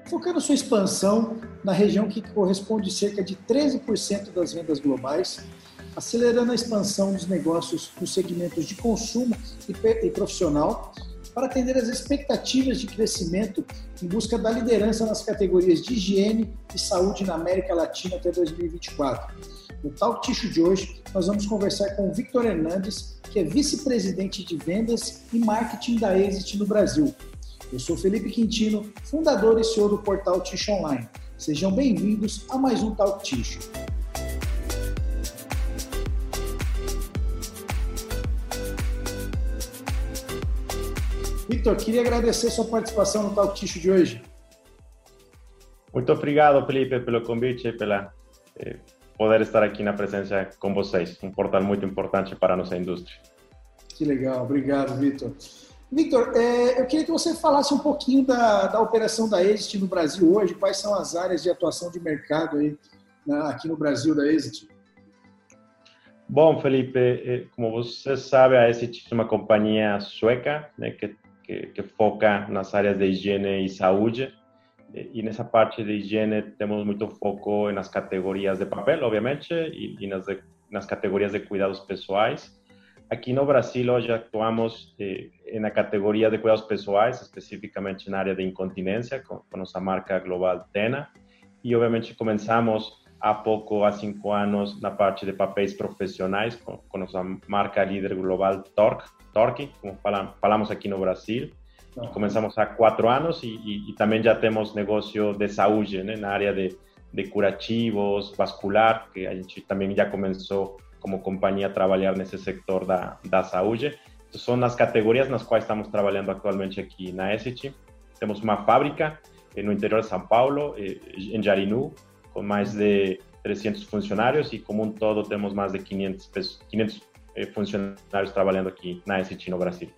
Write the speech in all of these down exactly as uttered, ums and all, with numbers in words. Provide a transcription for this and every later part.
focando sua expansão na região que corresponde a cerca de treze por cento das vendas globais, acelerando a expansão dos negócios nos segmentos de consumo e profissional para atender às expectativas de crescimento em busca da liderança nas categorias de higiene e saúde na América Latina até dois mil e vinte e quatro. No Talk Tissue de hoje, nós vamos conversar com o Victor Hernandes, que é vice-presidente de vendas e marketing da Exit no Brasil. Eu sou Felipe Quintino, fundador e C E O do portal Tissue Online. Sejam bem-vindos a mais um Talk Tissue. Victor, queria agradecer sua participação no Talk Tissue de hoje. Muito obrigado, Felipe, pelo convite e pela eh, poder estar aqui na presença com vocês. Um portal muito importante para a nossa indústria. Que legal, obrigado, Victor. Victor, é, eu queria que você falasse um pouquinho da, da operação da Exit no Brasil hoje, quais são as áreas de atuação de mercado aí, na, aqui no Brasil da Exit? Bom, Felipe, como você sabe, a Exit é uma companhia sueca, né, que, que, que foca nas áreas de higiene e saúde. E nessa parte de higiene temos muito foco nas categorias de papel, obviamente, e, e nas, de, nas categorias de cuidados pessoais. Aqui no Brasil hoje atuamos eh, na categoria de cuidados pessoais, especificamente na área de incontinência, com, com nossa marca global Tena. E obviamente começamos há pouco, há cinco anos, na parte de papéis profissionais, com, com nossa marca líder global Tork, Tork, como falam, falamos aqui no Brasil. E começamos há quatro anos e, e, e também já temos negócio de saúde, né, na área de, de curativos, vascular, que a gente também já começou como companhia a trabalhar nesse setor da, da saúde. Então, são as categorias nas quais estamos trabalhando atualmente aqui na Exit. Temos uma fábrica eh, no interior de São Paulo, eh, em Jarinu, com mais de trezentos funcionários e como um todo temos mais de quinhentos, quinhentos eh, funcionários trabalhando aqui na Exit no Brasil.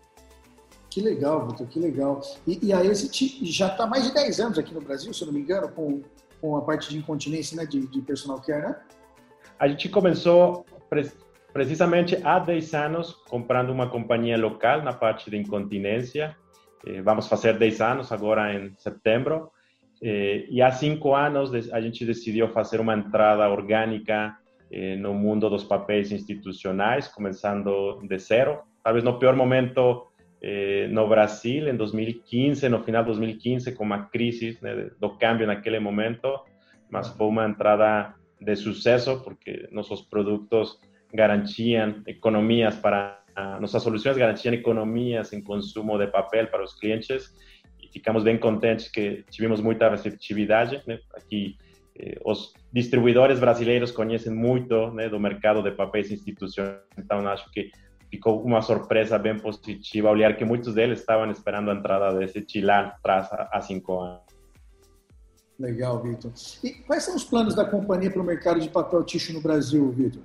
Que legal, Victor, que legal. E, e a Exit já está há mais de dez anos aqui no Brasil, se eu não me engano, com, com a parte de incontinência, né, de, de personal care, né? A gente começou pre precisamente há dez anos comprando uma companhia local na parte de incontinência. Eh, vamos fazer dez anos agora em setembro. Eh, e há cinco anos a gente decidiu fazer uma entrada orgânica eh, no mundo dos papéis institucionais, começando de zero. Talvez no pior momento eh, no Brasil, em dois mil e quinze, no final de dois mil e quinze, com uma crise, né, do câmbio naquele momento, mas foi uma entrada de sucesso, porque nossos produtos garantiam economias para, nossas soluções garantiam economias em consumo de papel para os clientes e ficamos bem contentes que tivemos muita receptividade, né? Aqui eh, os distribuidores brasileiros conhecem muito, né, do mercado de papéis institucionais, então acho que ficou uma surpresa bem positiva olhar que muitos deles estavam esperando a entrada desse Chilan atrás há cinco anos. Legal, Victor. E quais são os planos da companhia para o mercado de papel tissue no Brasil, Victor?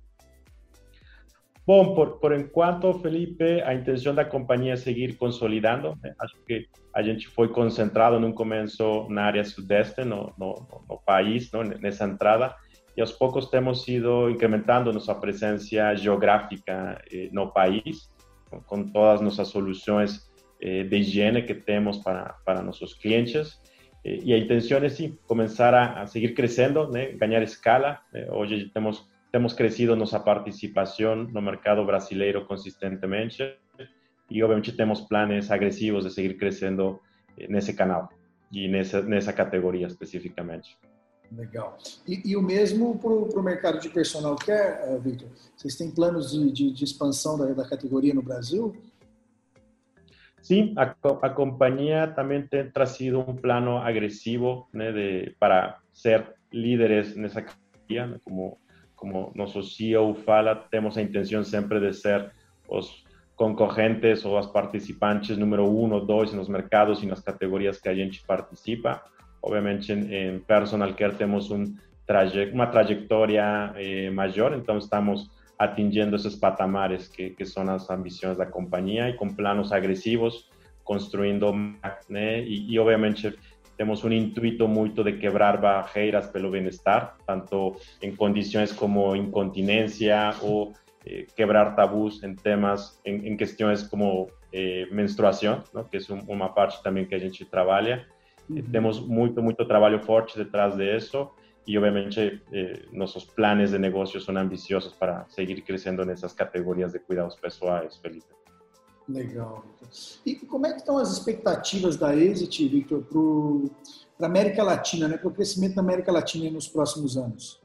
Bom, por, por enquanto, Felipe, a intenção da companhia é seguir consolidando. Né? Acho que a gente foi concentrado no começo na área sudeste, no, no, no país, não? Nessa entrada, e aos poucos temos ido incrementando nossa presença geográfica eh, no país, com, com todas nossas soluções eh, de higiene que temos para, para nossos clientes. E a intenção é, sim, começar a, a seguir crescendo, né? Ganhar escala. Eh, hoje temos, temos crescido nossa participação no mercado brasileiro consistentemente e, obviamente, temos planos agressivos de seguir crescendo eh, nesse canal e nessa, nessa categoria especificamente. Legal. E, e o mesmo para o mercado de personal care, Victor? Vocês têm planos de, de, de expansão da, da categoria no Brasil? Sim, a, a companhia também tem trazido um plano agressivo, né, de, para ser líderes nessa categoria, né, como, como nosso C E O fala, temos a intenção sempre de ser os concorrentes ou as participantes número um ou dois nos mercados e nas categorias que a gente participa. Obviamente, em, em personal care temos um traje, uma trajetória eh, maior, então estamos atingindo esses patamares que, que são as ambições da companhia e com planos agressivos, construindo, né? E, e obviamente temos um intuito muito de quebrar barreiras pelo bem-estar, tanto em condições como incontinência ou eh, quebrar tabus em temas, em, em questões como eh, menstruação, ¿no? Que é um, uma parte também que a gente trabalha. Uhum. Temos muito, muito trabalho forte detrás de isso e, obviamente, eh, nossos planos de negócio são ambiciosos para seguir crescendo nessas categorias de cuidados pessoais, Felipe. Legal, Victor. E como é que estão as expectativas da Exit, Victor, para a América Latina, né, para o crescimento da América Latina nos próximos anos?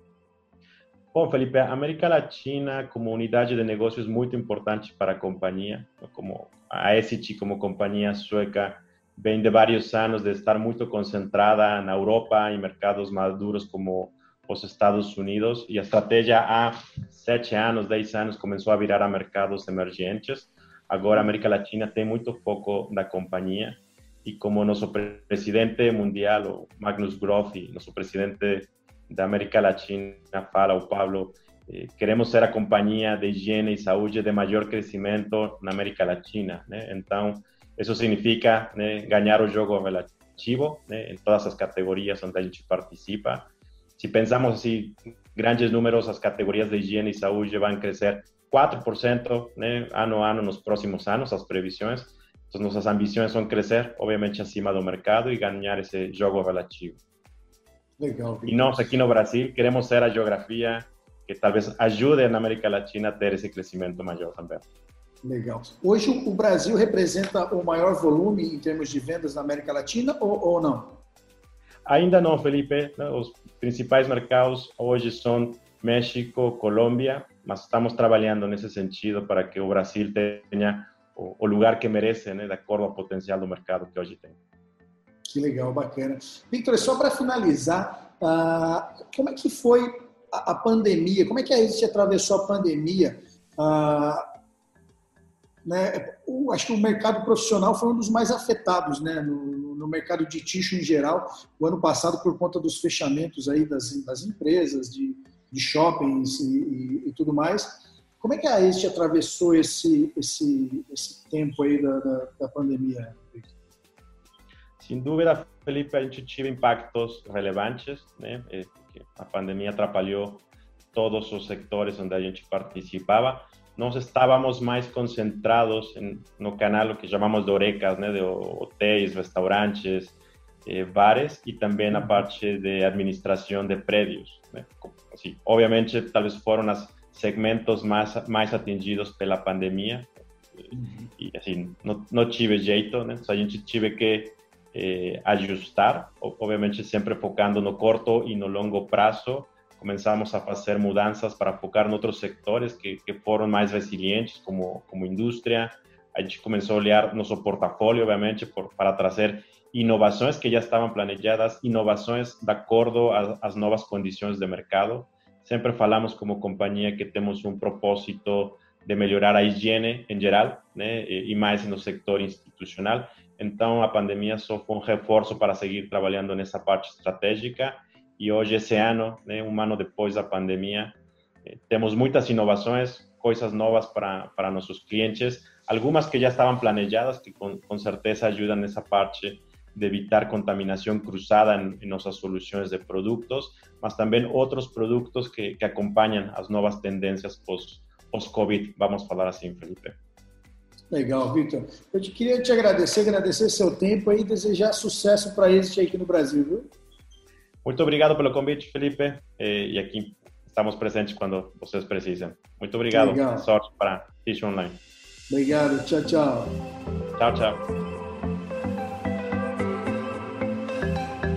Bom, Felipe, a América Latina como unidade de negócios muito importante para a companhia, como a Exit como companhia sueca vem de vários anos de estar muito concentrada na Europa, em mercados maduros como os Estados Unidos, e a estratégia há sete anos, dez anos começou a virar a mercados emergentes. Agora a América Latina tem muito foco da companhia e como nosso presidente mundial, o Magnus Groth, e nosso presidente da América Latina fala, o Pablo, eh, queremos ser a companhia de higiene e saúde de maior crescimento na América Latina, né? Então, isso significa, né, ganhar o jogo relativo, né, em todas as categorias onde a gente participa. Se pensamos assim, grandes números, as categorias de higiene e saúde vão crescer quatro por cento, né, ano a ano nos próximos anos, as previsões. Então, nossas ambições são crescer, obviamente, acima do mercado e ganhar esse jogo relativo. Legal. E nós, aqui no Brasil, queremos ser a geografia que talvez ajude na América Latina a ter esse crescimento maior também. Legal. Hoje, o Brasil representa o maior volume em termos de vendas na América Latina ou, ou não? Ainda não, Felipe. Os principais mercados hoje são México, Colômbia, mas estamos trabalhando nesse sentido para que o Brasil tenha o lugar que merece, né, de acordo ao potencial do mercado que hoje tem. Que legal, bacana. Victor, só para finalizar, uh, como é que foi a, a pandemia? Como é que a Exit atravessou a pandemia? Uh, né, o, acho que o mercado profissional foi um dos mais afetados, né, no, no mercado de tixo em geral, o ano passado por conta dos fechamentos aí das, das empresas, de de shoppings e, e, e tudo mais. Como é que a Exit atravessou esse, esse, esse tempo aí da, da, da pandemia? Sem dúvida, Felipe, a gente teve impactos relevantes, né? A pandemia atrapalhou todos os sectores onde a gente participava. Nós estávamos mais concentrados em, no canal que chamamos de Horecas, né? De hotéis, restaurantes, eh, bares e também na parte de administração de prédios, né? Assim, obviamente, talvez foram os segmentos mais, mais atingidos pela pandemia. Uhum. E assim, não, não tive jeito, né? A gente tive que eh, ajustar, obviamente sempre focando no curto e no longo prazo. Começamos a fazer mudanças para focar em outros setores que, que foram mais resilientes, como, como indústria. A gente começou a olhar nosso portfólio, obviamente, por, para trazer inovações que já estavam planejadas, inovações de acordo às novas condições de mercado. Sempre falamos como companhia que temos um propósito de melhorar a higiene em geral, né, e mais no setor institucional. Então, a pandemia só foi um reforço para seguir trabalhando nessa parte estratégica. E hoje, esse ano, né, um ano depois da pandemia, eh, temos muitas inovações, coisas novas para, para nossos clientes, algumas que já estavam planejadas, que com, com certeza ajudam nessa parte de evitar contaminação cruzada em, em nossas soluções de produtos, mas também outros produtos que, que acompanham as novas tendências pós, pós-Covid, vamos falar assim, Felipe. Legal, Victor. Eu te queria te agradecer, agradecer seu tempo e desejar sucesso para a Exit aqui no Brasil, viu? Muito obrigado pelo convite, Felipe, e aqui estamos presentes quando vocês precisam. Muito obrigado. Legal. Sorte para Tixo Online. Obrigado. Tchau, tchau. Tchau, tchau.